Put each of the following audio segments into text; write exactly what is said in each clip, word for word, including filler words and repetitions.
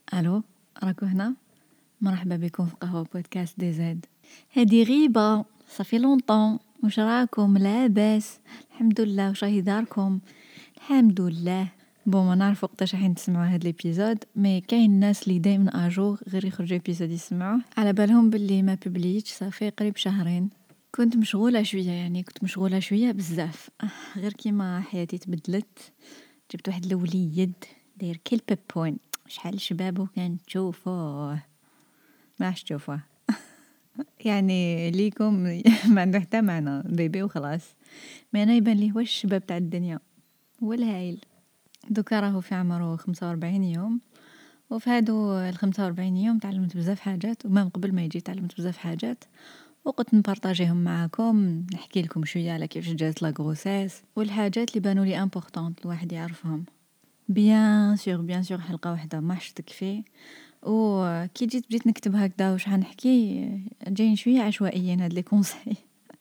الو، راكو هنا؟ مرحبا بكم في قهوة بودكاست دي زاد. هادي غيبة صافي لونطون. واش راكم؟ لاباس؟ الحمد لله. واش راهي داركم؟ الحمد لله. بون ما نعرف وقتاش راح تسمعوا هاد الابيزود، مي كاين الناس اللي دائما اجور غير يخرجوا ابيزود يسمعوه على بالهم باللي ما ببليتش صافي قريب شهرين. كنت مشغوله شويه، يعني كنت مشغوله شويه بزاف، غير كيما حياتي تبدلت. جبت واحد الوليد داير كيل بيبون، شحال شبابه كان تشوفوه ما عادش تشوفوه. يعني ليكم ما عنده حتى معنى، بيبي وخلاص. ما انا يبان لي هو الشباب تاع الدنيا، هو الهايل. دوكا راهو في عمره خمسة وأربعين يوم، وفي هادو ال خمسة وأربعين يوم تعلمت بزاف حاجات، ومام قبل ما يجي تعلمت بزاف حاجات وقلت نبارطاجيهم معاكم، نحكي لكم شويه على كيفاش جات لا غروسيس والحاجات اللي بانوا لي امبورطونط الواحد يعرفهم. بيان سور بيان سور حلقه واحده ما حش تكفي. وكي جيت بديت نكتب هكذا واش حنحكي، جايين شويه عشوائيين هاد لي كونساي.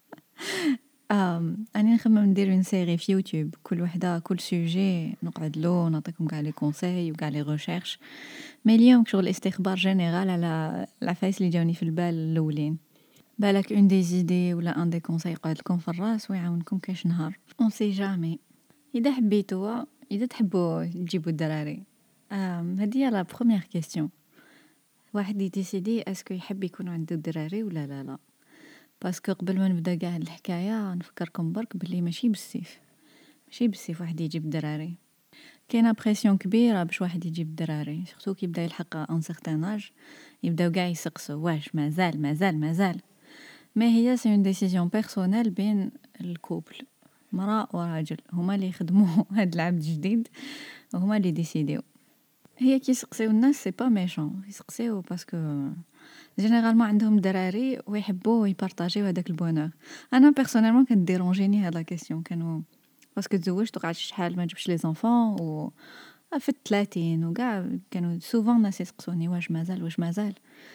ام اني نخمم ندير اون سيري في يوتيوب، كل وحده كل سوجي نقعد له نعطيكم كاع لي كونساي وكاع لي ريشيرش. مي اليوم شغل استخبار جينيرال على العفايس اللي جاوني في البال الاولين. بالك اون دي زيدي ولا ان دي كونساي يقعد لكم في الراس ويعاونكم كاش نهار. اون سي جامي. اذا حبيتوا، اذا تحبوا تجيبوا الدراري، ام هذه لا بروميير كيسيون. واحد يديسيدي اسكو يحب يكون عنده دراري ولا لا لا. باسكو قبل ما نبدا كاع الحكايه نفكركم برك بلي ماشي بالسيف، ماشي بالسيف واحد يجيب دراري. كاينه بريسيون كبيره باش واحد يجيب دراري، سورتو كي يبدا يلحق ان سيغتان اج، يبداو كاع يسقسوا واش مازال مازال مازال. ما هي سي اون ديسيزيون بيرسونيل بين الكوبل، مرأة وراجل، هما اللي يخدموا هاد العبد الجديد وهما اللي ديسيديو. هي كي يسقسيو الناس سي با ميشون، يسقسيو باسكو جينيرالمون عندهم دراري ويحبوا يبارطاجيو هذاك البونور. انا بيرسونيلمون كان ديرونجيني هاد لا كيسيون، كانوا باسكو تزوجت وقعدت شحال ما جبتش لي زونفون و في الثلاثين وكاع كانوا سوفون الناس يسقسوني واش مازال واش مازال.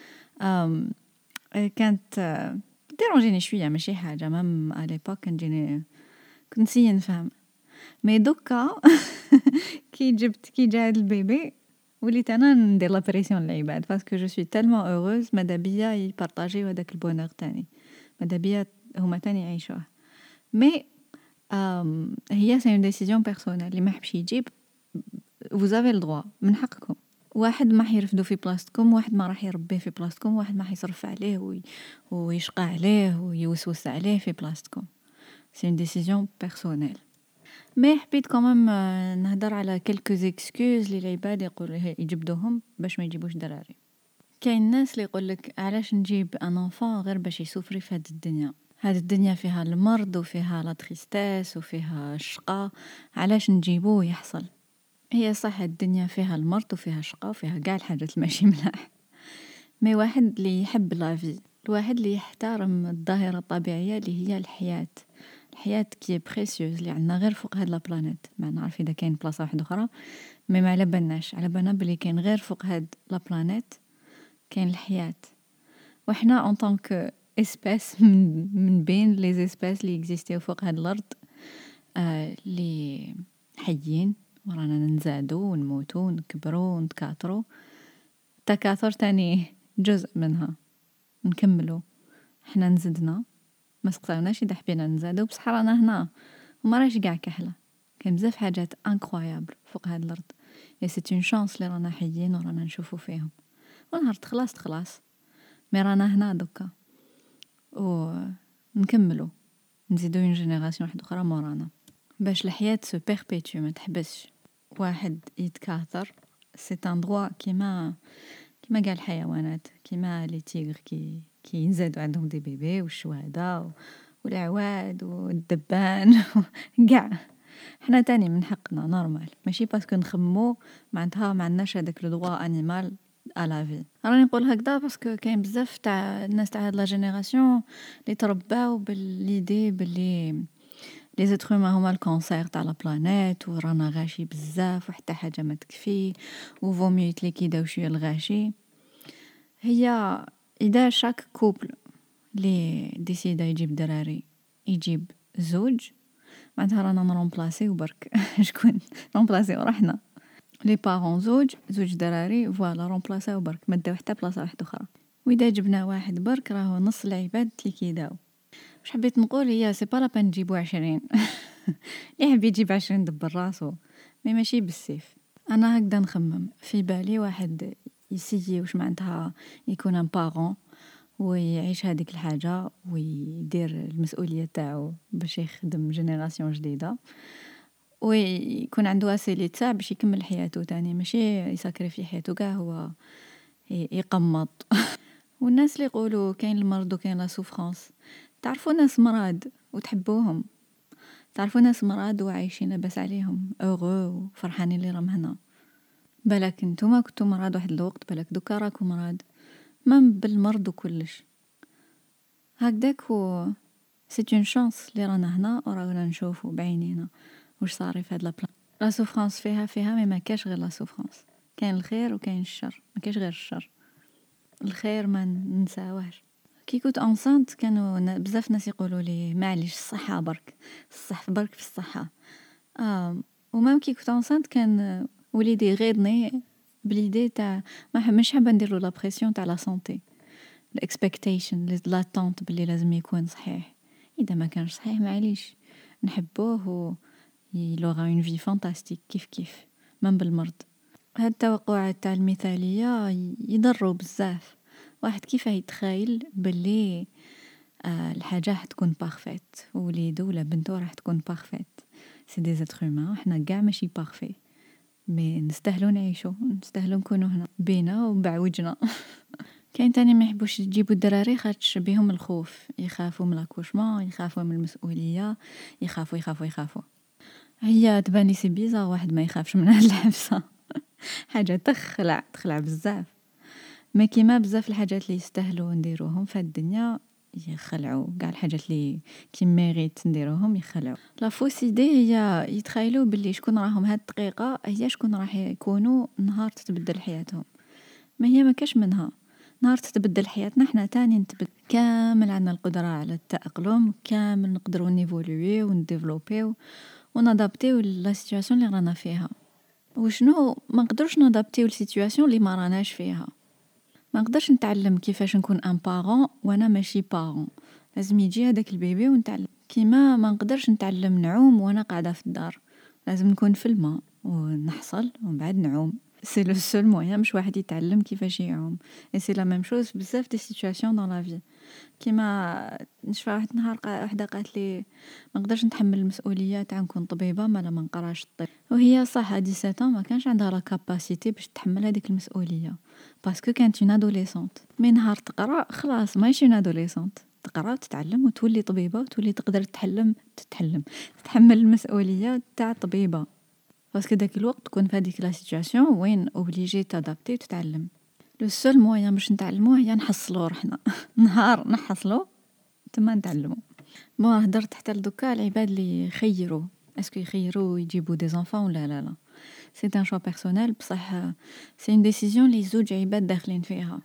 أم كانت ديرونجيني شويه، ماشي حاجه مام على ليبوك كان جيني كنت نسيي نفهم. مي دوكا كي جبت كي جا هاد البيبي وليت انا ندير لا بريسيون للعباد، باسكو جو سوي تالمون اوروز مادا بيا يبارطاجيو هذاك البونور تاني، مادا بيا هما تاني يعيشوه. مي أم هي سي اون ديسيزيون بيرسونيل، اللي ما حبش يجيب vous avez le droit، من حقكم. واحد ما حيرفدو في بلاصتكم، واحد ما راح يربيه في بلاصتكم، واحد ما حيصرف عليه وي... ويشقى عليه ويوسوس عليه في بلاصتكم. سي اون ديسيزيون بيرسونيل. مي حبيت كومام نهدر على كلكو زيكسكوز لي العباد يقولوا يجبدوهم باش ما يجيبوش دراري. كاين الناس اللي يقولك علاش نجيب ان انفون غير باش يسوفري في هاد الدنيا، هاد الدنيا فيها المرض وفيها لا تريستيس وفيها الشقاء، علاش نجيبوه يحصل. هي صح الدنيا فيها المرض وفيها الشقاء وفيها كاع الحاجات الماشي ملاح، مي واحد اللي يحب لافي، الواحد اللي يحترم الظاهرة الطبيعية اللي هي الحياة، الحياة كي بريسيوز اللي عندنا غير فوق هاد لا بلانيت. ما نعرف اذا كاين بلاصه واحده اخرى، مي ما على بالناش، على بالنا بلي كاين غير فوق هاد لا بلانيت كاين الحياة. وحنا ان طونك اسباس من, من بين لي زيسباس اللي اكزيستيو فوق هاد الارض، آه اللي حيين ورانا ننزادو ونموتو ونكبرو ونتكاثرو. التكاثر تاني جزء منها، نكملو. حنا نزدنا ما سقساوناش اذا حبينا نزادو، بصح رانا هنا وما راش كاع كحله. كاين بزاف حاجات انكرويابل فوق هاد الارض، اي سي اون شانس لي رانا حيين ورانا نشوفو فيهم. ونهار تخلاص تخلاص، مي رانا هنا دوكا و نكملو، نزيدو اون جينيراسيون واحده اخرى مورانا باش الحياه سو بيربيتو ما تحبسش. واحد يتكاثر سي ان دروا كيما كيما كاع الحيوانات، كيما لي تيغر كي كي ينزادوا عندهم دي بيبي والشواده والعواد والدبان كاع. حنا تاني من حقنا نورمال، ماشي باسكو نخمو معناتها ما عندناش هذاك لو دروا انيمال ا لا في. راني نقول هكذا باسكو كاين بزاف تاع الناس تاع هاد لا جينيراسيون اللي ترباو بالليدي باللي لي زيتر هما هما الكونسير تاع لا بلانيت، ورانا غاشي بزاف وحتى حاجه ما تكفي وفومي يتليكيداو شويه الغاشي. هي اذا شاك كوبل لي ديسيدا يجيب دراري يجيب زوج، معناتها رانا نرومبلاسيو برك شكون نرومبلاسيو روحنا. لي بارون زوج زوج دراري فوالا رومبلاساو برك ما داو حتى بلاصه واحده اخرى. واذا جبنا واحد برك راهو نص العباد اللي كيداو. واش حبيت نقول هي سي با لابان نجيبو عشرين اللي حبي يجيب عشرين دبر راسو مي ماشي بالسيف. انا هكذا نخمم في بالي واحد يسيي واش معناتها يكون ان بارون ويعيش هذيك الحاجه ويدير المسؤوليه تاعو باش يخدم جينيراسيون جديده ويكون عنده اسيلي تاع باش يكمل حياته تاني ماشي يسكري في حياته كاع هو يقمط. والناس اللي يقولوا كاين المرض وكاين لا سوفرانس، تعرفوا ناس مراد وتحبوهم، تعرفوا ناس مراد وعايشين لاباس عليهم اوغو وفرحانين اللي راهم هنا. بالك نتوما كنتو مراد واحد الوقت، بالك دوكا راكو مراد ما بالمرض وكلش هكذاك. و سي اون شانس اللي رانا هنا ورانا نشوفوا بعينينا واش صار في هاد لا بلان. لا سوفرانس فيها فيها مي ما كاش غير لا سوفرانس، كاين الخير وكاين الشر، ما كاش غير الشر. الخير ما ننساوهش. كي كنت انسانت كانوا بزاف ناس يقولوا لي معليش الصحه برك، الصح برك في الصحه. اه ومام كي كنت انسانت كان وليدي يغيظني بليدي تاع ما مش حابه ندير له لا بريسيون تاع لا سونتي، الاكسبكتيشن لاتونت باللي لازم يكون صحيح. اذا ما كانش صحيح معليش نحبوه و يلوغا اون في فانتاستيك كيف كيف من بالمرض. هاد التوقعات تاع المثاليه يضروا بزاف. واحد كيف يتخيل باللي آه الحاجه راح تكون بارفيت وليدو ولا بنتو راح تكون بارفيت. سي دي زاتر هومان، حنا كاع ماشي بارفي مي نستاهلوا نعيشوا، نستاهلوا نكونوا هنا بينا وبعوجنا. كاين تاني ما يحبوش يجيبوا الدراري خاطش بهم الخوف، يخافوا من لاكوشمون، يخافوا من المسؤوليه، يخافوا يخافوا يخافوا. هي تبان لي سي بيزار واحد ما يخافش من هاد الحبسه حاجه تخلع تخلع بزاف. ما كيما بزاف الحاجات اللي يستاهلوا نديروهم في الدنيا يخلعوا، كاع الحاجات اللي كي ميريت نديروهم يخلعوا. لا فوسيدي هي يتخيلوا باللي شكون راهم هاد الدقيقه هي شكون راح يكونوا نهار تتبدل حياتهم. ما هي ما كاش منها نهار تتبدل حياتنا، حنا تاني نتبدل كامل، عندنا القدره على التاقلم كامل، نقدروا نيفولوي ونديفلوبيو ونادابتيو لا سيتوياسيون اللي رانا فيها. وشنو ما نقدرش نادابتيو لسيتوياسيون اللي ما راناش فيها. ما نقدرش نتعلم كيفاش نكون ان بارون وانا ماشي بارون، لازم يجي هذاك البيبي ونتعلم. كيما ما نقدرش نتعلم نعوم وانا قاعده في الدار، لازم نكون في الماء ونحصل ومن بعد نعوم. سي لو سول موين باش واحد يتعلم كيفاش يعوم. اي سي لا ميم شوز بزاف دي سيتوياسيون دون لا في. كيما نشوف واحد النهار وحده قالت لي ما نقدرش نتحمل المسؤوليه تاع نكون طبيبه ما لا ما نقراش الطب. وهي صح هادي سبعة ما كانش عندها لا كاباسيتي باش تحمل هذيك المسؤوليه باسكو كانت اون ادوليسونت. من نهار تقرا خلاص ماشي اون ادوليسونت، تقرا وتتعلم وتولي طبيبه وتولي تقدر تتحلم تتحلم تتحمل المسؤوليه تاع طبيبه. باسكو داك الوقت تكون في هذيك لا سيتوياسيون وين اوبليجي تادابتي وتتعلم. لو سول موين باش نتعلموه هي نحصلو روحنا نهار نحصلو تما نتعلمو. بون هدرت حتى لدوكا العباد اللي يخيروا اسكو يخيروا يجيبوا دي زونفون ولا لا لا، سي ان شوا بيرسونيل بصح سي اون ديسيزيون لي زوج عباد داخلين فيها.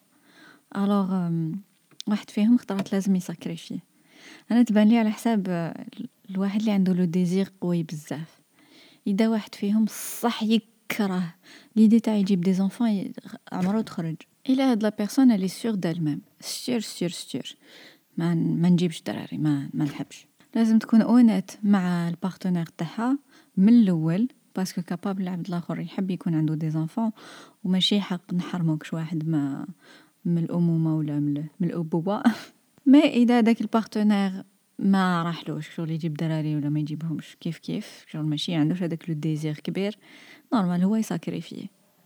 الوغ واحد فيهم اختارت لازم يساكريفي. انا تبان لي على حساب الواحد اللي عنده لو ديزير قوي بزاف. اذا واحد فيهم صح يكره ليدي تاع يجيب دي زونفون عمرو تخرج الى هاد لا بيرسون اللي سور دال ميم سير سير سير ما ما نجيبش دراري، ما ما نحبش. لازم تكون اونيت مع البارتنير تاعها من الاول باسكو كابابل العبد الاخر يحب يكون عنده دي زونفون وماشي حق نحرموكش واحد ما من الامومه ولا من, من الابوه. ما اذا داك البارتنير ما راحلوش شغل يجيب دراري ولا ما يجيبهمش كيف كيف شغل ماشي عندوش هذاك لو ديزير كبير، نورمال هو يساكريفيه.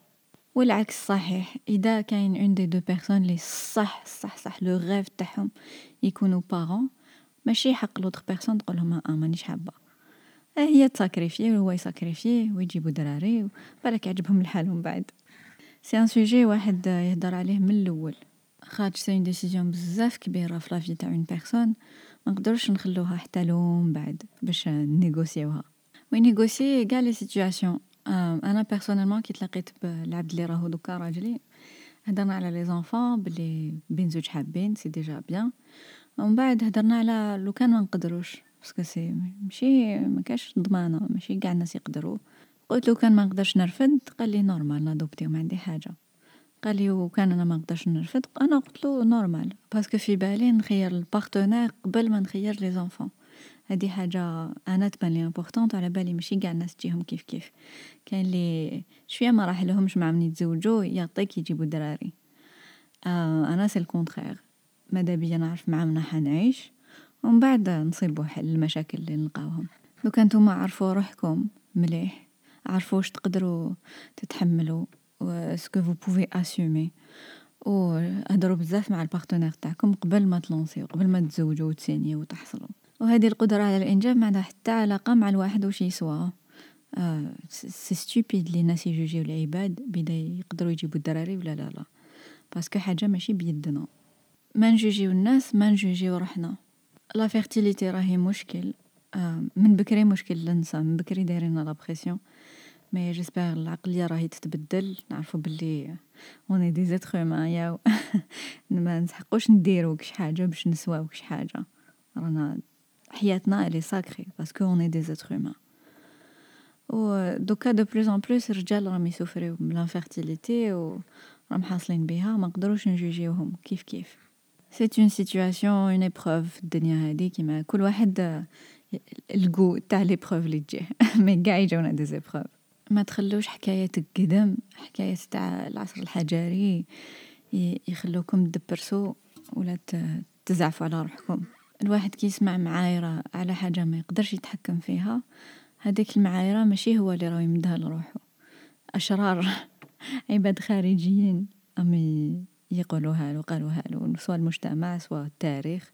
والعكس صحيح، اذا كاين اون دي دو بيرسون لي صح صح صح لو غيف تاعهم يكونوا بارون، ماشي حق لوطخ بيرسون تقول لهم اه مانيش حابه. هي تساكريفيه وهو يساكريفيه ويجيبوا دراري بالك يعجبهم الحال من بعد. سي ان سوجي واحد يهضر عليه من الاول خاطر سي اون ديسيزيون بزاف كبيره في لافي تاع اون بيرسون، ما نقدرش نخلوها حتى لو من بعد باش نيغوسيوها ونيغوسي كاع لي سيتوياسيون. انا بيرسونيلمون كي تلاقيت بالعبد اللي راهو دوكا راجلي هضرنا على لي زونفون بلي بين زوج حابين سي ديجا بيان، ومن بعد هضرنا على لو كان ما نقدروش باسكو سي ماشي ما كاش ضمانه ماشي كاع الناس يقدروا قلت له كان ما نقدرش نرفد، قال لي نورمال نادوبتيو ما عندي حاجه. قال لي وكان انا ما نقدرش نرفد، انا قلت له نورمال باسكو في بالي نخير البارتنير قبل ما نخير لي زونفون. هذه حاجه انا تبان لي امبورطونط، على بالي ماشي كاع الناس تجيهم كيف كيف. كاين لي شويه ما راح لهمش مع من يتزوجوا يعطيك يجيبوا دراري. آه انا سي الكونترير، ماذا بيا نعرف مع من حنعيش ومن بعد نصيبوا حل المشاكل اللي نلقاوهم. لو كنتو ما عرفوا روحكم مليح، عرفوا واش تقدروا تتحملوا واسكو فو بوفي اسومي، وهضروا بزاف مع البارتنير تاعكم قبل ما تلونسيو، قبل ما تزوجوا وتسينيو وتحصلوا. وهذه القدرة على الإنجاب ما عندها حتى علاقة مع الواحد وش يسوى. آه سي ستوبيد لي ناس يجوجيو العباد بدا يقدروا يجيبوا الدراري ولا لا لا، باسكو حاجة ماشي بيدنا. ما نجوجيو الناس، ما نجوجيو روحنا. لا فيرتيليتي راهي مشكل، آه من بكري مشكل للنساء، من بكري دايرين لا بريسيون. مي جيسبر العقليه راهي تتبدل، نعرفوا باللي اوني دي زيتر هومان يا ما نسحقوش نديرو كش حاجه باش نسواو كش حاجه. رانا حياتنا الي ساكري باسكو اوني دي زيتر هومان. و دوكا دو بلوس ان بلوس الرجال راهم يسوفريو من لانفيرتيليتي و راهم حاصلين بها، ما نقدروش نجوجيوهم كيف كيف. سي اون سيتوياسيون اون ايبروف الدنيا هذه، كيما كل واحد الكو تاع ليبروف اللي تجيه مي كاع يجونا دي زيبروف. ما تخلوش حكاية القدم، حكاية تاع العصر الحجري يخلوكم تدبرسوا ولا تزعفوا على روحكم. الواحد كي يسمع معايرة على حاجة ما يقدرش يتحكم فيها، هذيك المعايرة ماشي هو اللي راه يمدها لروحه. أشرار عباد خارجيين أمي يقولوها له، قالوها له، سواء المجتمع سواء التاريخ،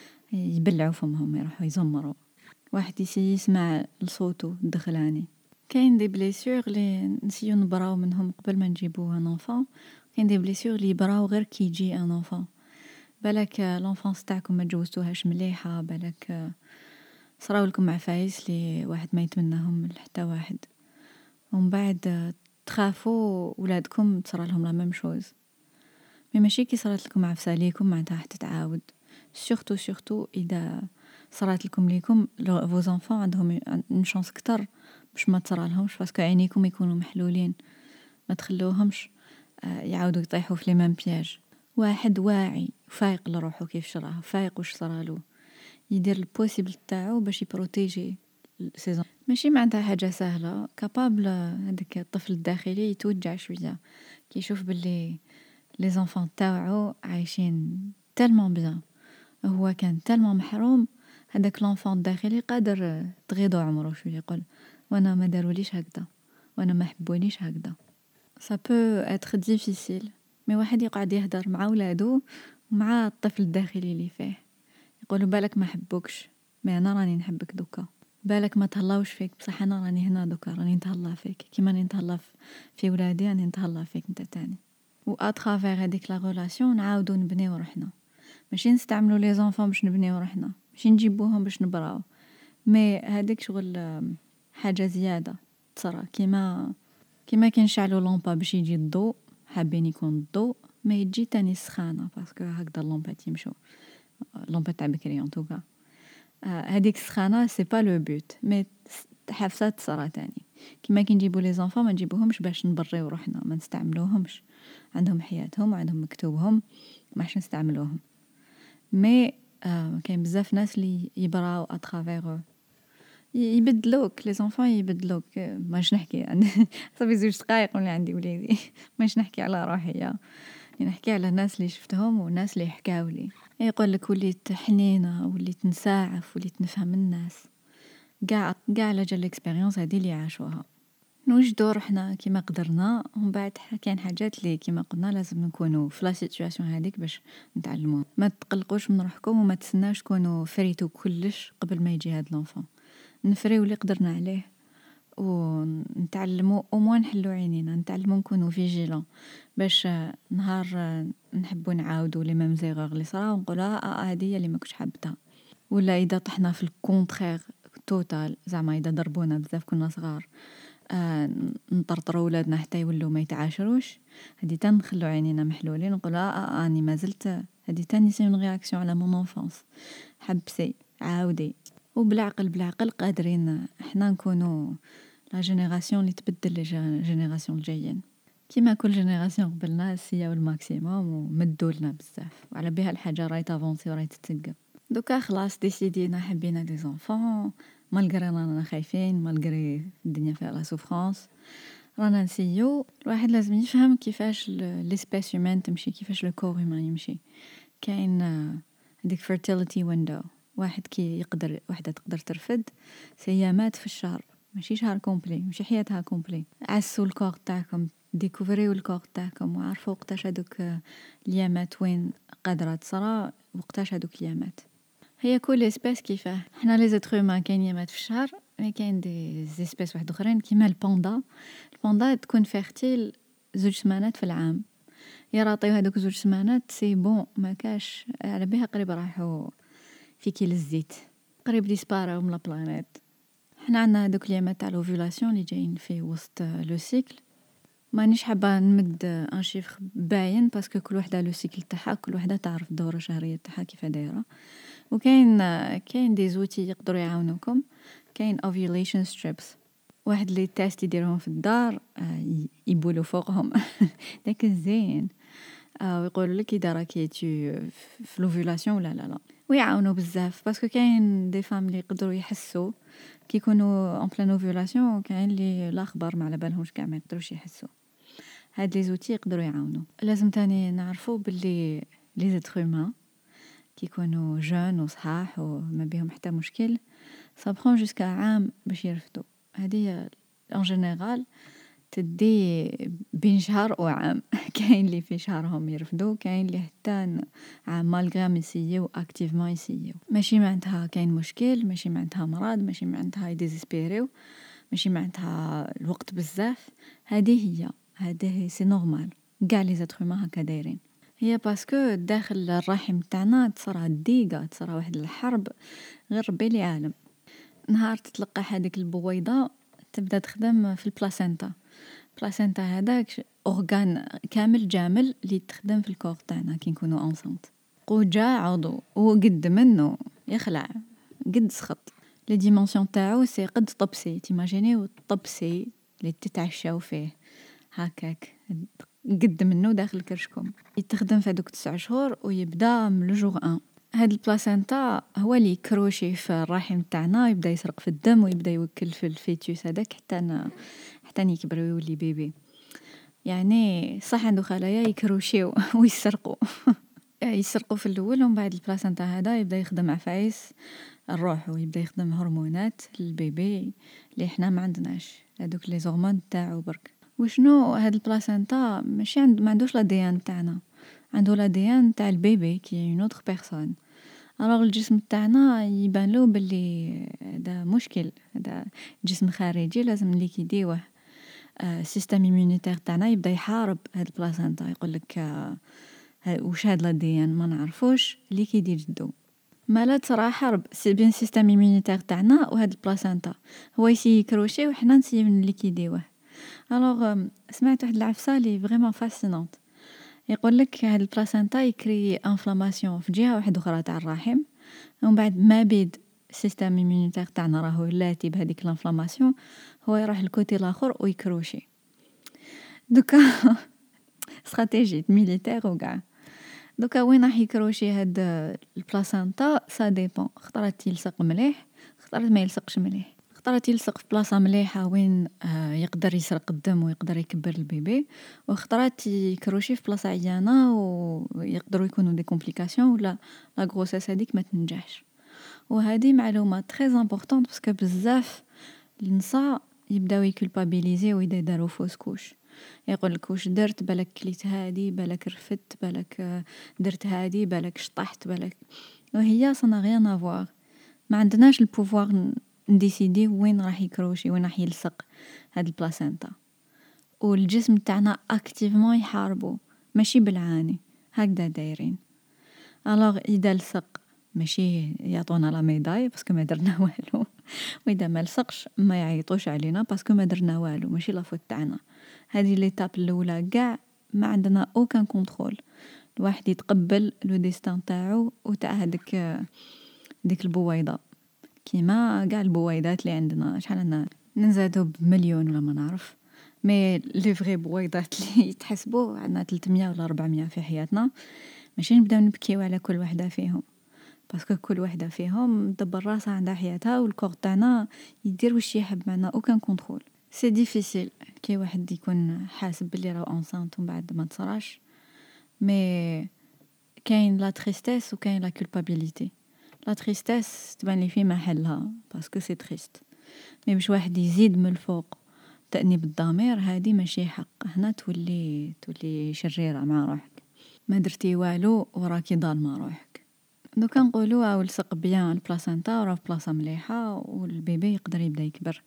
يبلعوا فمهم يروحوا يزمروا. واحد يسي يسمع لصوته الدخلاني. كاين دي بليسيور لي نسيو نبراو منهم قبل ما نجيبو ان انفون، كاين دي بليسيور لي يبراو غير كي يجي ان انفون. بالك لونفونس تاعكم ما جوزتوهاش مليحه، بالك صراو لكم عفايس لي واحد ما يتمناهم لحتى واحد، ومن بعد تخافوا ولادكم تصرى لهم لا ميم شوز. مي ماشي كي صرات لكم عفسه ليكم معناتها راح تتعاود. سورتو سورتو اذا صرات لكم ليكم فو زونفون عندهم اون شانس كتر باش ما تصرى لهمش، باسكو عينيكم يكونوا محلولين، ما تخلوهمش يعاودوا يطيحوا في لي ميم بياج. واحد واعي فايق لروحو كيف شراه، فايق واش صرالو، يدير البوسيبل تاعو باش يبروتيجي سيزون. ماشي معناتها حاجه سهله، كابابل هذاك الطفل الداخلي يتوجع شويه كي يشوف باللي لي زونفون تاوعو عايشين تالمون بيان، هو كان تالمون محروم. هذاك لونفون الداخلي قادر تغيضو عمره شويه، يقول وانا ما داروليش هكذا، وانا ما حبونيش هكذا. ça peut être difficile، مي واحد يقعد يهدر مع ولادو ومع الطفل الداخلي اللي فيه، يقولوا بالك ما حبوكش، مي انا راني نحبك دوكا. بالك ما تهلاوش فيك، بصح انا راني هنا دوكا، راني نتهلا فيك كيما راني نتهلا في ولادي، راني نتهلا فيك انت تاني. و اترافير هذيك لا ريلاسيون نعاودو نبنيو روحنا، ماشي نستعملوا لي زونفون باش نبنيو روحنا، ماشي نجيبوهم باش نبراو. مي هذيك شغل حاجه زياده تصرا، كيما كيما كنشعلوا لومبا باش يجي الضوء، حابين يكون الضوء ما يجي تاني السخانه، باسكو هكذا اللومبات يمشوا، لومبا تاع بكري ان توكا. هذيك السخانه سي با لو بوت، مي حفصات تصرا تاني. كيما كي نجيبوا لي زونفون ما نجيبوهمش باش نبريو روحنا، ما نستعملوهمش، عندهم حياتهم وعندهم مكتوبهم، ماش نستعملوهم. مي آه كاين بزاف ناس اللي يبراو اترافير، يبدلوك لي زونفون يبدلوك. ماش نحكي يعني صافي زوج دقائق ولا عندي وليدي ماش نحكي على روحي، يعني نحكي على الناس اللي شفتهم والناس اللي حكاو لي. يقول لك وليت حنينه، وليت نساعف، وليت نفهم الناس، كاع كاع على جال الاكسبيريونس هذه اللي عاشوها. نوجدوا روحنا كيما قدرنا، ومن بعد كاين حاجات اللي كيما قلنا لازم نكونوا في لا سيتوياسيون هذيك باش نتعلموا. ما تقلقوش من روحكم وما تسناوش تكونوا فريتو كلش قبل ما يجي هاد لونفون. نفريو اللي قدرنا عليه ونتعلموا او موان نحلو عينينا، نتعلموا نكونوا فيجيلون باش نهار نحبوا نعاودوا لي ميم زيغور اللي صراو ونقولوا اه هذه هي اللي ما كنتش حابتها. ولا اذا طحنا في الكونترير توتال، زعما اذا ضربونا بزاف كنا صغار، آه نطرطروا ولادنا حتى يولوا ما يتعاشروش، هذه تان نخلو عينينا محلولين نقولوا اه اني ما زلت، هذه تاني سي اون رياكسيون على مون انفانس. حبسي عاودي، وبالعقل بالعقل قادرين احنا نكونوا لا جينيراسيون اللي تبدل لي جينيراسيون الجايين. كيما كل جينيراسيون قبلنا سياو الماكسيموم ومدوا لنا بزاف، وعلى بها الحاجه راهي تافونسي وراهي تتسقم. دوكا خلاص ديسيدينا حبينا دي زونفون، مالغري رانا خايفين، مالغري الدنيا فيها لا سوفرانس، رانا نسيو. الواحد لازم يفهم كيفاش ليسبيس هيومان تمشي، كيفاش لو كور هيومان يمشي. كاين هذيك فيرتيليتي ويندو، واحد كي يقدر وحده تقدر ترفد سيامات في الشهر، ماشي شهر كومبلي، ماشي حياتها كومبلي. عسوا الكور تاعكم، ديكوفريو الكور تاعكم، وعرفوا وقتاش هذوك اليامات وين قادره تصرا، وقتاش هذوك اليامات. هي كل اسبيس كيفاه. حنا لي زيتر هيومان كاين يامات في الشهر، مي كاين دي اسبيس واحد اخرين كيما البوندا. البوندا تكون فيرتيل زوج سمانات في العام، يراطيو هذوك زوج سمانات سي بون، ما كاش على بها قريب راحوا في كيل الزيت، قريب ديسباراو من لا بلانيت. حنا عندنا هذوك اليامات تاع لوفولاسيون اللي جايين في وسط لو سيكل. مانيش حابه نمد ان شيفر باين باسكو كل وحده لو سيكل تاعها، كل وحده تعرف الدوره الشهريه تاعها كيف دايره. وكاين كاين دي زوتي يقدروا يعاونوكم. كاين ovulation strips، واحد اللي تيست يديرهم في الدار، يبولوا فوقهم داك الزين، ويقولوا لك اذا راكي تي في لوفولاسيون ولا لا لا. ويعاونوا بزاف باسكو كاين دي فام اللي يقدروا يحسوا كي يكونوا اون بلان اوفولاسيون، وكاين اللي الاخبار ما على بالهمش كاع ما يقدروش يحسوا. هاد لي زوتي يقدروا يعاونوا. لازم تاني نعرفوا باللي لي زيتر هيومان كي يكونوا جون وصحاح وما بيهم حتى مشكل صابخون جوسكا عام باش يرفدوا. هذه ان جينيرال تدي بين شهر وعام كاين اللي في شهرهم يرفدوا، كاين اللي حتى عام مالغرام يسيو اكتيفمون يسيو. ماشي معناتها كاين مشكل، ماشي معناتها مرض، ماشي معناتها يديزيسبيريو، ماشي معناتها الوقت بزاف. هذه هي هذه سي نورمال، كاع لي زاتر هيومان هكا دايرين. هي باسكو داخل الرحم تاعنا تصرى الديقه، تصرى واحد الحرب غير ربي لي عالم. نهار تتلقى هذيك البويضه تبدا تخدم في البلاسينتا. البلاسينتا هذاك اورغان كامل جامل اللي تخدم في الكور تاعنا كي نكونوا انسانت. قوجا عضو وقد منه يخلع قد سخط. لي ديمونسيون تاعو سي قد طبسي، تيماجينيو طبسي اللي تتعشاو فيه هكاك قد منه داخل كرشكم. يتخدم في هذوك تسع شهور ويبدا من لو جور واحد. هاد البلاسينتا هو اللي كروشي في الرحم تاعنا، يبدا يسرق في الدم ويبدا يوكل في الفيتوس هذاك حتى ن... حتى يكبر ويولي بيبي. يعني صح عنده خلايا يكروشيو ويسرقوا يسرقوا في الاول، ومن بعد البلاسينتا هذا يبدا يخدم عفايس الروح ويبدا يخدم هرمونات البيبي اللي احنا ما عندناش، هذوك لي هرمون تاعو برك. وشنو هاد البلاسينتا ماشي عند ما عندوش لا دي ان تاعنا، عنده لا دي ان تاع البيبي كي اون اوتر بيرسون. الوغ الجسم تاعنا يبان له باللي هذا مشكل، هذا جسم خارجي لازم ليكيديوه. السيستم ايمونيتير تاعنا يبدا يحارب هاد البلاسينتا، يقول لك آه واش هاد لا دي ان ما نعرفوش ليكيدي جدو. مالا تصرا حرب سي بين السيستم ايمونيتير تاعنا وهاد البلاسينتا، هو يسي يكروشي وحنا نسيو نليكيديوه. الوغ سمعت واحد العفسه لي فريمون فاسينونت، يقول لك هاد البلاسينتا يكري انفلاماسيون في جهه واحده اخرى تاع الرحم، ومن بعد ما بيد السيستم ايمونيتير تاعنا راهو لاتي بهذيك الانفلاماسيون، هو يروح الكوتي الاخر ويكروشي. دوكا استراتيجي ميليتير وكاع. دوكا وين راح يكروشي هاد البلاسينتا سا ديبون، خطرات يلصق مليح، خطرات ما يلصقش مليح. خطرات يلصق في بلاصه مليحه وين آه يقدر يسرق الدم ويقدر يكبر البيبي، وخطرات يكروشي في بلاصه عيانه ويقدروا يكونوا دي كومبليكاسيون ولا لا غروسيس هذيك ما تنجحش. وهذه معلومه تري امبورطونط باسكو بزاف النساء يبداو يكولبابيليزي ويدا يداروا فوس كوش، يقول لك واش درت، بالك كليت هادي، بالك رفدت، بالك درت هادي، بالك شطحت، بالك. وهي صنا غيان افوار، ما عندناش البوفوار نديسيدي وين راح يكروشي وين راح يلصق هاد البلاسينتا. والجسم تاعنا اكتيفمون يحاربو ماشي بالعاني، هكذا دايرين. الوغ اذا لصق ماشي يعطونا لا ميداي باسكو ما درنا والو، واذا ما لصقش ما يعيطوش علينا باسكو ما درنا والو، ماشي لا فوت تاعنا. هذه ليتاب الاولى كاع ما عندنا اوكان كونترول، الواحد يتقبل لو ديستان تاعو وتاع هذيك ديك البويضه كيما كاع البويضات اللي عندنا. شحال عندنا نزادو بمليون ولا ما نعرف. مي لي فغي بويضات اللي يتحسبوا عندنا ثلاثمية ولا أربعمية في حياتنا، ماشي نبداو نبكيو على كل وحده فيهم، باسكو كل وحده فيهم دبر راسها عندها حياتها، والكور تاعنا يدير واش يحب، معنا اوكان كونترول. سي ديفيسيل كي واحد يكون حاسب بلي راه انسانت ومن بعد ما تصراش. مي كاين لا تريستيس وكاين لا كولبابيليتي. لا تريستيس تبان لي في محلها باسكو سي تريست، مي باش واحد يزيد من الفوق تأنيب الضمير، هادي ماشي حق. هنا تولي تولي شريرة مع روحك، ما درتي والو وراكي ظالمه روحك. دوكا نقولوا او لصق بيان البلاسنتا وراه في بلاصه مليحه والبيبي يقدر يبدا يكبر.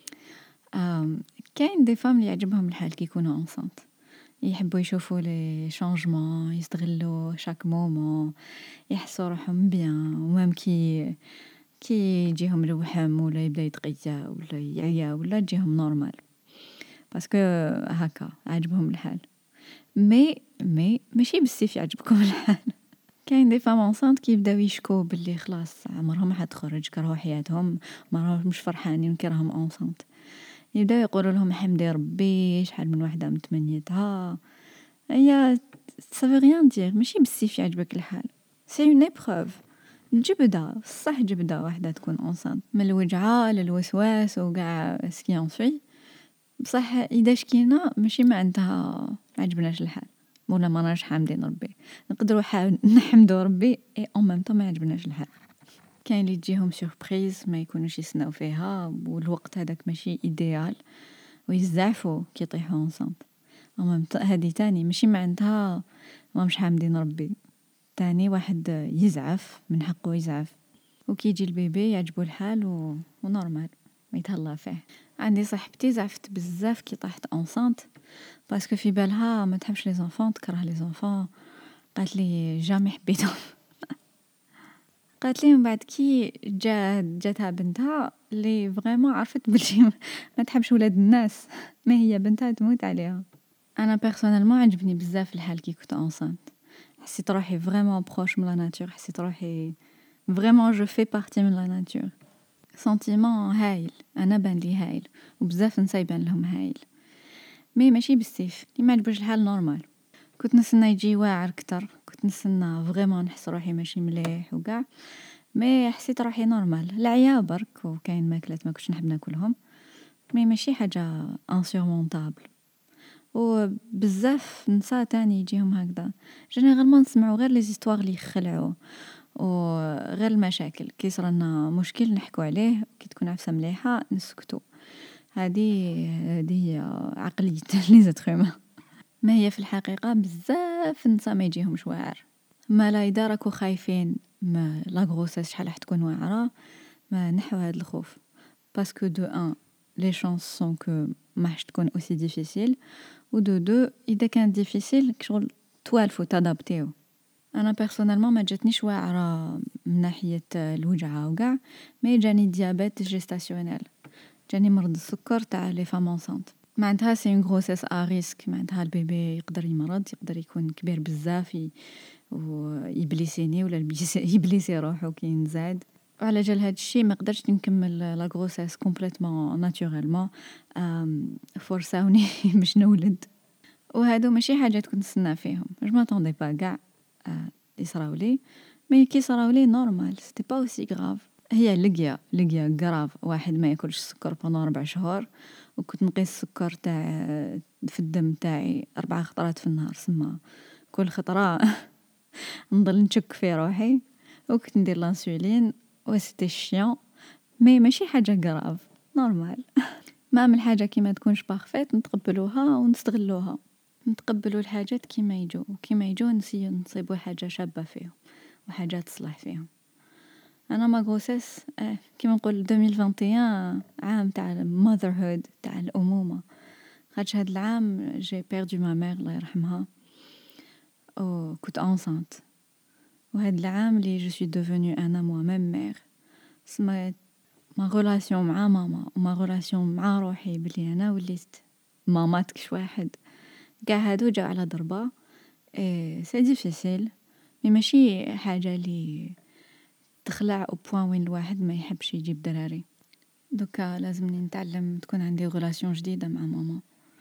آم، كاين دي فام اللي يعجبهم الحال كي يكونوا انسانت، يحبوا يشوفوا لي شانجمون، يستغلوا شاك مومون، يحسوا روحهم بيان. ومام كي كي يجيهم الوحم ولا يبدا يتغيا ولا يعيا ولا تجيهم نورمال، باسكو هكا عجبهم الحال. مي مي ماشي بزاف يعجبكم الحال. كاين دي فام انسانت كيبداو يشكو باللي خلاص عمرهم ما حتخرج، كرهوا حياتهم، ما راهمش فرحانين كي راهم انسانت. يبداو يقولوا لهم حمدي ربي شحال من وحده متمنيتها. هي سافي ريان دير، ماشي بزاف يعجبك الحال، سي اون ايبروف. جبده صح، جبده واحده تكون انسانت من الوجعه للوسواس وكاع سكي في. بصح اذا شكينا ماشي ما عندها ما عجبناش الحال ولا ما راش حامدين ربي، نقدروا نحمدوا ربي اي اون ميم طو ما عجبناش الحال. كاين اللي تجيهم سوربريز ما يكونوش يسناو فيها، والوقت هذاك ماشي ايديال ويزعفوا كي يطيحوا انسانت. اما هذه تاني ماشي ما عندها ما مش حامدين ربي، تاني واحد يزعف من حقه يزعف. وكي يجي البيبي يعجبو الحال و... ونورمال ما يتهلا فيه. عندي صاحبتي زعفت بزاف كي طاحت انسانت، باسكو في بالها ما تحبش لي زونفون، تكره لي زونفون. قالت لي جامي حبيتهم. قالت لي من بعد كي جا جاتها بنتها اللي فريمون عرفت بلي ما تحبش ولاد الناس، ما هي بنتها تموت عليها. انا بيرسونيلمون عجبني بزاف الحال كي كنت انسانت، حسيت روحي فريمون بروش من لا ناتور، حسيت روحي فريمون جو في بارتي من لا ناتور. سنتيمون هايل، انا بان لي هايل وبزاف نسا يبان لهم هايل. مي ماشي بزاف اللي ما عجبوش الحال نورمال. كنت نسنى يجي واعر كتر، كنت نسنى فريمون نحس روحي ماشي مليح وكاع. مي حسيت روحي نورمال، العيا برك وكاين ماكلات ما كنتش نحب ناكلهم، مي ماشي حاجه انسورمونطابل. وبزاف نسا تاني يجيهم هكذا جينيرالمون نسمعوا غير لي زيستوار اللي يخلعوا وغير المشاكل. كي صرنا مشكل نحكوا عليه، كي تكون عفسه مليحه نسكتوا. هذه هذه عقليه لي زاتروما. ما هي في الحقيقه بزاف نسا ما يجيهمش واعر. ما لا اذا راكو خايفين ما لا غروسيس شحال راح تكون واعره، ما نحو هذا الخوف، باسكو دو ان لي شانس سون كو ما راح تكون اوسي ديفيسيل، و دو دو اذا كان ديفيسيل كشغل توالفوا تادابتيو. انا بيرسونيلمون ما جاتنيش واعره من ناحيه الوجعه وكاع، مي جاني ديابيت جيستاسيونيل، جاني مرض السكر تاع لي فام انسانت. معناتها سي اون غروسيس ا ريسك، معناتها البيبي يقدر يمرض، يقدر يكون كبير بزاف ويبليسيني ولا يبليسي روحو كي نزاد. وعلى جال هاد الشيء ما قدرتش نكمل لا غروسيس كومبليتمون ناتوريلمون، فورساوني باش نولد. وهادو ماشي حاجات كنت نستنى فيهم، جو ماتوندي با كاع يصراولي، مي كي صراولي نورمال، سيتي با اوسي غراف. هي لقيا لقيا غراف واحد ما ياكلش السكر بونو ربع شهور، وكنت نقيس السكر تاع في الدم تاعي اربع خطرات في النهار، سما كل خطره نضل نشك في روحي، وكنت ندير لانسولين و سيتي شيون. مي ماشي حاجه غراف، نورمال. ما من حاجه كي ما تكونش بارفيت نتقبلوها ونستغلوها، نتقبلوا الحاجات كيما يجوا، وكيما يجوا نسيو نصيبوا حاجه شابه فيهم وحاجه تصلح فيهم. انا ما غوسيس اه كيما نقول ألفين وواحد وعشرين عام تاع المذرهود، تاع الامومه. خاطش هاد العام جي بيردو ما مير الله يرحمها، او كنت انسانت. وهاد العام اللي جو سوي دوفوني انا موا ميم مير، سما ما غولاسيون مع ماما وما غولاسيون مع روحي بلي انا وليت مامات كش واحد، كاع هادو جاو على ضربه. ايه سي ديفيسيل، مي ماشي حاجه لي تخلع او بوين وين الواحد ما يحبش يجيب دراري. دوكا لازمني نتعلم تكون عندي غولاسيون جديدة مع ماما،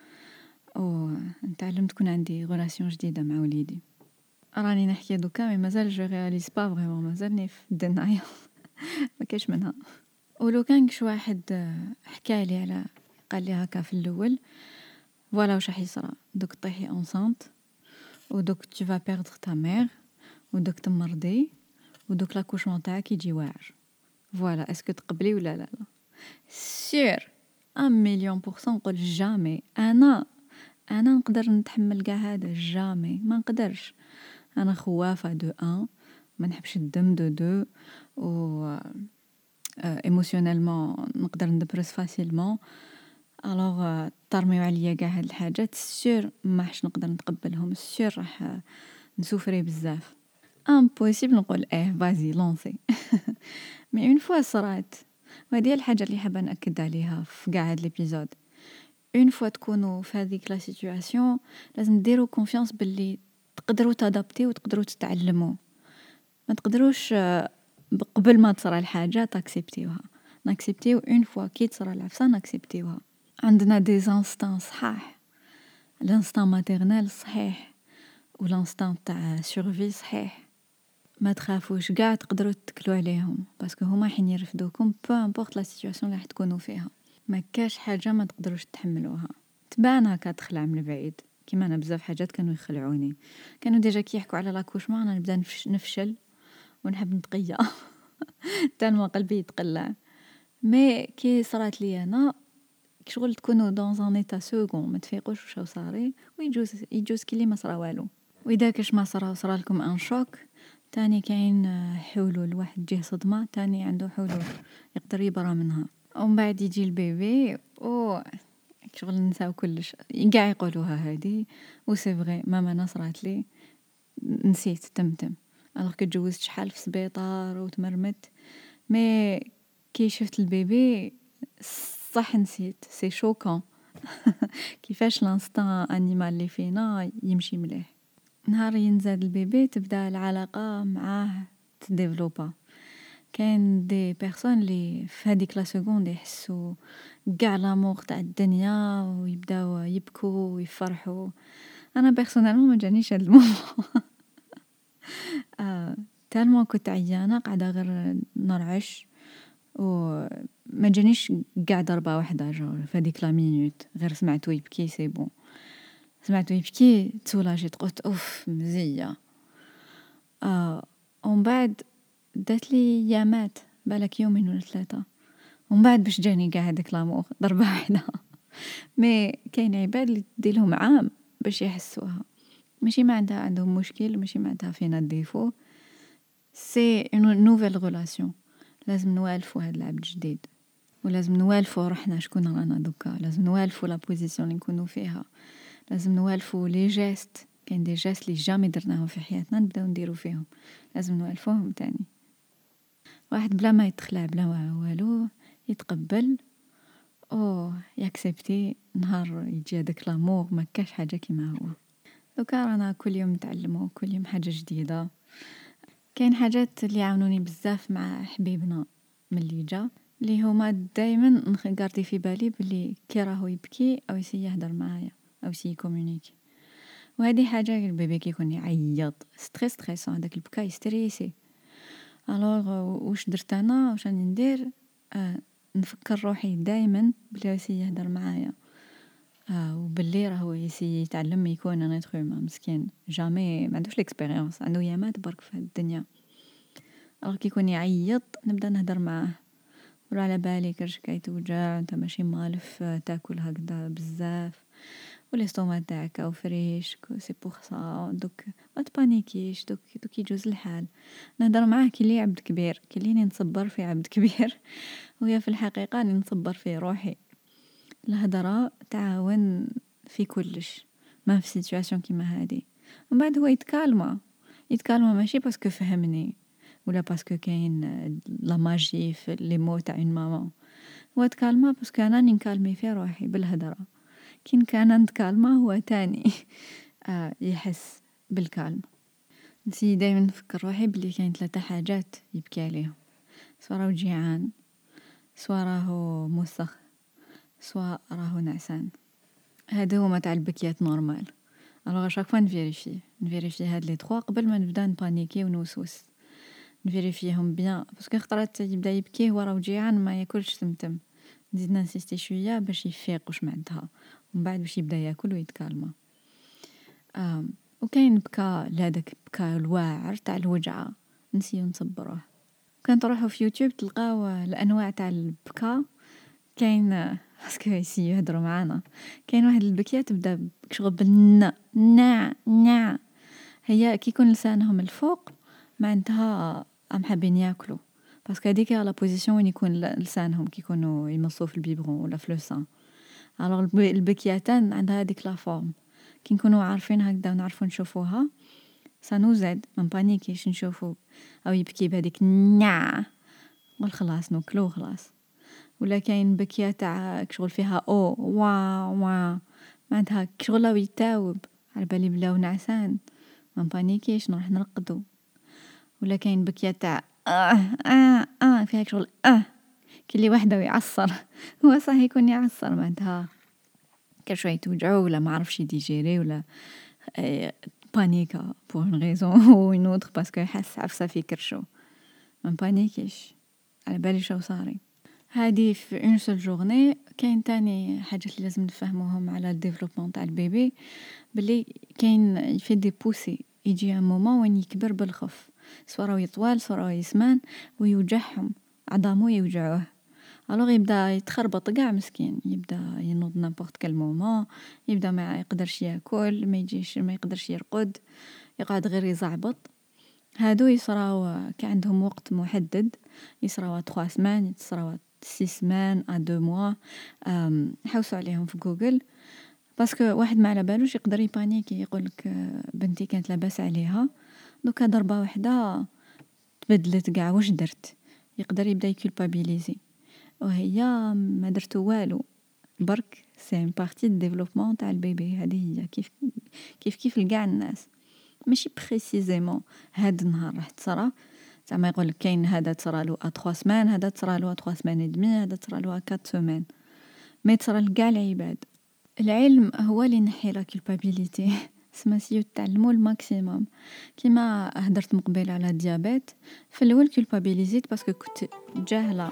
و نتعلم تكون عندي غولاسيون جديدة مع وليدي. راني نحكي دوكا مي مازال جو رياليز با فريمون، مازالني في الدنايا ما كاش منها. ولو كان كش واحد حكالي على قال لي هكا في الاول، فوالا واش راح يصرى، دوك طيحي انسانت، ودوك tu vas perdre ta mère، ودوك تمرضي، ودوك لاكوشمون تاعك يجي واعر. فوالا اسكو تقبلي ولا لا؟ لا سير ان مليون بورسون نقول جامي. انا انا نقدر نتحمل كاع هذا؟ جامي ما نقدرش. انا خوافه دو ان، ما نحبش الدم دو دو، و ايموشنيلمون نقدر ندبرس فاسيلمون. الوغ طرميو عليا كاع هاد الحاجات سير ما حش نقدر نتقبلهم، سير راح نسوفري بزاف. امبوسيبل نقول اه فازي لونسي. مي اون فوا صرات، وهذه الحاجه اللي حابه ناكد عليها في كاع هاد ليبيزود، اون فوا تكونوا في هذيك لا سيتوياسيون لازم ديروا كونفيانس باللي تقدروا تادابتي وتقدروا تتعلموا. ما تقدروش قبل ما تصرى الحاجه تاكسبتيوها، ناكسبتيو اون فوا كي تصرى العفسه ناكسبتيوها. عندنا دي زانستان صحاح، الانستان ماتيرنال صحيح، والانستان تاع سورفي صحيح. ما تخافوش كاع، تقدروا تتكلوا عليهم باسكو هما حين يرفدوكم بو امبورط لا سيتوياسيون اللي راح تكونوا فيها. ما كاش حاجه ما تقدروش تحملوها. تبان هكا تخلع من البعيد، كيما انا بزاف حاجات كانوا يخلعوني، كانوا ديجا كي يحكوا على لاكوشمون انا نبدا نفشل ونحب نتقيا تالما قلبي يتقلع. مي كي صرات لي انا شغل تكونوا دون ان ايتا سكون ما تفيقوش واش صاري، ويجوز يجوز كي ما صرا والو. واذا كاش ما صرا صرا لكم ان شوك تاني، كاين حلول. واحد جيه صدمه تاني عنده حلول يقدر يبرى منها. ومن بعد يجي البيبي و شغل نساو كلش، كاع يقولوها هادي و سي فري. ماما انا صرات لي نسيت تمتم، الوغ كي تجوزت شحال في سبيطار وتمرمت، مي كي شفت البيبي صح نسيت. سي شوكون كيفاش لانستان انيمال اللي فينا يمشي مليح. نهار ينزاد البيبي تبدا العلاقه معاه تديفلوبا. كاين دي بيرسون اللي في هذيك لا سكوند يحسوا كاع لامور تاع الدنيا ويبداو يبكوا ويفرحوا. انا بيرسونيلمون ما جانيش هذا المومون. آه تالمون كنت عيانه قاعده غير نرعش، وما جانيش كاع ضربه واحده جو في هذيك لا مينوت، غير سمعتو يبكي سي بون. سمعتو يبكي تسولاجيت، قلت اوف مزيه. اه ومن بعد دات لي يامات، بالك يومين ولا ثلاثه، ومن بعد باش جاني كاع هذاك لامور ضربه واحده. مي كاين عباد اللي تديلهم عام باش يحسوها. ماشي ما عندها عندهم مشكل، ماشي ما عندها فينا ديفو، سي اون نوفيل غولاسيون. لازم نوالفوا هذا العبد الجديد، ولازم نوالفوا روحنا شكون رانا دوكا، لازم نوالفوا لا بوزيسيون اللي نكونوا فيها، لازم نوالفوا لي جيست. كاين دي جيست اللي جامي درناهم في حياتنا نبداو نديرو فيهم، لازم نوالفوهم تاني. واحد بلا ما يتخلع بلا والو يتقبل او ياكسبتي، نهار يجي هذاك لامور ما كاش حاجه كيما هو. دوكا رانا كل يوم نتعلموا، كل يوم حاجه جديده. كاين حاجات اللي عاونوني بزاف مع حبيبنا ملي جا، اللي هما دائما نغاردي في بالي بلي كي راهو يبكي او يسي يهدر معايا او يسي يكومونيكي. وهذه حاجه البيبي كيكون يعيط ستريس ستريس هذاك البكا يستريسي. الوغ واش درت انا، واش راني ندير؟ آه نفكر روحي دائما بلي يسي يهدر معايا، آه وباللي راهو يسي يتعلم يكون ان اتر هومان. مسكين جامي ما عندوش ليكسبيريونس، عنده يامات برك في الدنيا. الوغ كي يكون يعيط نبدا نهدر معاه، ولا على بالك رجلك يتوجع، انت ماشي مالف تاكل هكذا بزاف، والاستوما تاعك او فريش سي بوغ سا. دوك ما تبانيكيش، دوك دوك يجوز الحال. نهدر معاه كي لي عبد كبير، كي ليني نصبر في عبد كبير وهي في الحقيقه راني نصبر في روحي. الهضره تعاون في كلش، ما في سيتوياسيون كيما هادي. ومن بعد هو يتكالما، يتكالما ماشي باسكو فهمني ولا باسكو كاين لا ماجي في لي مو تاع اون ماما. هو تكالما باسكو انا راني نكالمي في روحي بالهضره. كي كان نتكالما هو تاني آه يحس بالكالم. نسي دايما نفكر روحي بلي كاين ثلاثه حاجات يبكي عليهم: صرا وجيعان، سوا راهو موسخ سوا راهو نعسان. هادو هما تاع البكيات نورمال. الوغ شاك فوا نفيريفي نفيريفي هاد لي تخوا قبل ما نبدا نبانيكي ونوسوس، نفيريفيهم بيان باسكو خطرات يبدا يبكي هو راه جيعان ما ياكلش تمتم، نزيد نانسيستي شويه باش يفيق واش معناتها ومن بعد باش يبدا ياكل ويتكالما. آم. وكاين بكا لهداك بكا الواعر تاع الوجعه نسيو نصبروه. كان تروحوا في يوتيوب تلقاو الانواع تاع البكا. كاين باسكو يسيو يهضروا معانا، كاين واحد البكيه تبدا شغل بالنا نا نا، هي كي يكون لسانهم الفوق معناتها ام حابين ياكلوا، باسكو هذيك لا بوزيسيون وين يكون لسانهم كي يكونوا يمصوا في البيبرون ولا في لوسان. الوغ البكياتان عندها هذيك لا فورم، كي نكونوا عارفين هكذا ونعرفوا نشوفوها سانو زاد ما نبانيكيش نشوفوا او يبكي بهذيك نا نقول خلاص ناكلو خلاص. ولا كاين بكيه تاع شغل فيها او وا وا معناتها شغل راهو يتاوب على بالي بلاو نعسان ما نبانيكيش نروح نرقدو. ولا كاين بكيه تاع اه اه اه فيها شغل اه كي اللي وحده ويعصر هو صح يكون يعصر معناتها كل شويه توجعو ولا ما عرفش يديجيري ولا آه بانيكا بور ان ريزون او اون اوتر باسكو يحس عفسه في كرشو ما نبانيكيش على بالي شو صاري. هادي في اون سول جورني. كاين تاني حاجات اللي لازم نفهموهم على الديفلوبمون تاع البيبي، بلي كاين يفي دي بوسي يجي ان مومون وين يكبر بالخف، سوا راهو يطوال سوا راهو يسمان ويوجعهم عظامو يوجعوه. الوغ يبدا يتخربط كاع مسكين، يبدا ينوض نابورت كال مومون، يبدا ما يقدرش ياكل ما يجيش ما يقدرش يرقد، يقعد غير يزعبط. هادو يصراو كي عندهم وقت محدد، يصراو ثلاث سمان يصراو ست سمان ا دو موا. حوسوا عليهم في جوجل باسكو واحد ما على بالوش يقدر يبانيكي يقولك بنتي كانت لاباس عليها دوكا ضربه واحده تبدلت كاع واش درت، يقدر يبدا يكولبابيليزي وهي ما درتو والو برك سي ان بارتي دو ديفلوبمون تاع البيبي. هذه هي كيف كيف كيف لكاع الناس ماشي بريسيزيمون هاد النهار راح تصرا زعما يقول لك كاين هذا تصرالو ا ثلاث سمان هذا تصرالو ا ثلاث سمان ادمي هذا تصرالو ا أربع سمان، ما تصرا لكاع العباد. العلم هو اللي ينحي لا كولبابيليتي سما سيو تعلموا الماكسيموم. كيما هدرت مقبل على الديابيت في الاول كولبابيليزيت باسكو كنت جاهله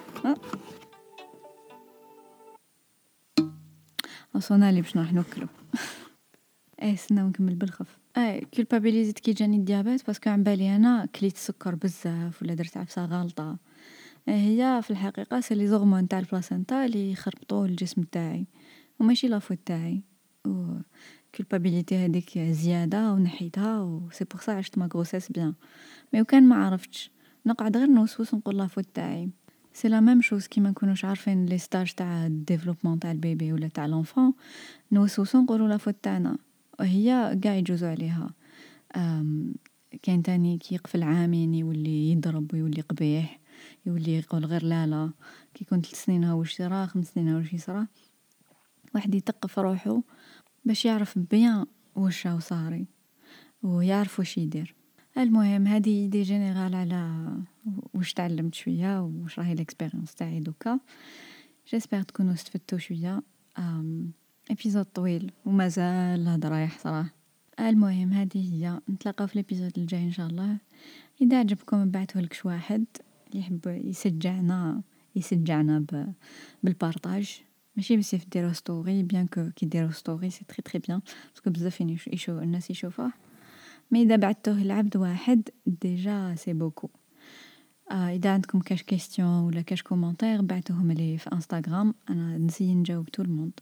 وصلنا لي باش نروح ناكلو ايه سناو نكمل بالخف. اي كولبابيليزيت كي جاني الديابيت باسكو عن بالي انا كليت السكر بزاف ولا درت عفسه غلطه. هي في الحقيقه سي لي زورمون تاع البلاسنتا اللي يخربطوا الجسم تاعي وماشي لافوت تاعي. و كولبابيليتي هذيك زياده ونحيتها و سي بور سا عشت ما غروسيس بيان. مي وكان ما عرفتش نقعد غير نوسوس نقول لافوت تاعي. سي لا ميم شوز كيما نكونوش عارفين لي ستاج تاع الديفلوبمون تاع البيبي ولا تاع لونفون نوسوسو نقولوا لافوت تاعنا وهي كاع يجوزوا عليها. كاين تاني كي يقفل عامين يولي يضرب ويولي قبيح يولي يقول غير لا لا. كي يكون ثلاث سنين ها واش يصرا خمس سنين ها واش يصرا واحد يتقف روحو باش يعرف بيان واش راهو صاري ويعرف واش يدير. المهم هذه دي جينيرال على واش تعلمت شويه واش راهي الاكسبيريونس تاعي دوكا. جيسبر تكونوا استفدتوا شويه. ابيزود طويل ومازال الهضره يحصراه. المهم هذه هي، نتلاقاو في الابيزود الجاي ان شاء الله. اذا عجبكم نبعثوا لك واحد اللي يحب يشجعنا يشجعنا ب... بالبارطاج ماشي بس يديروا ستوري بيان كو كي ديروا ستوري سي تري تري بيان باسكو بزاف يشوف الناس يشوفوه. مي اذا بعثوه لعبد واحد ديجا سي بوكو. آه اذا عندكم كاش كيستيون ولا كاش كومونتير بعثوهم لي في انستغرام انا نسي نجاوب طول الموند.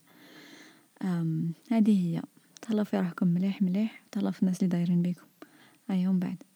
هذه هي. تهلاو في روحكم مليح مليح تهلاو في الناس اللي دايرين بيكم. ايهم بعد.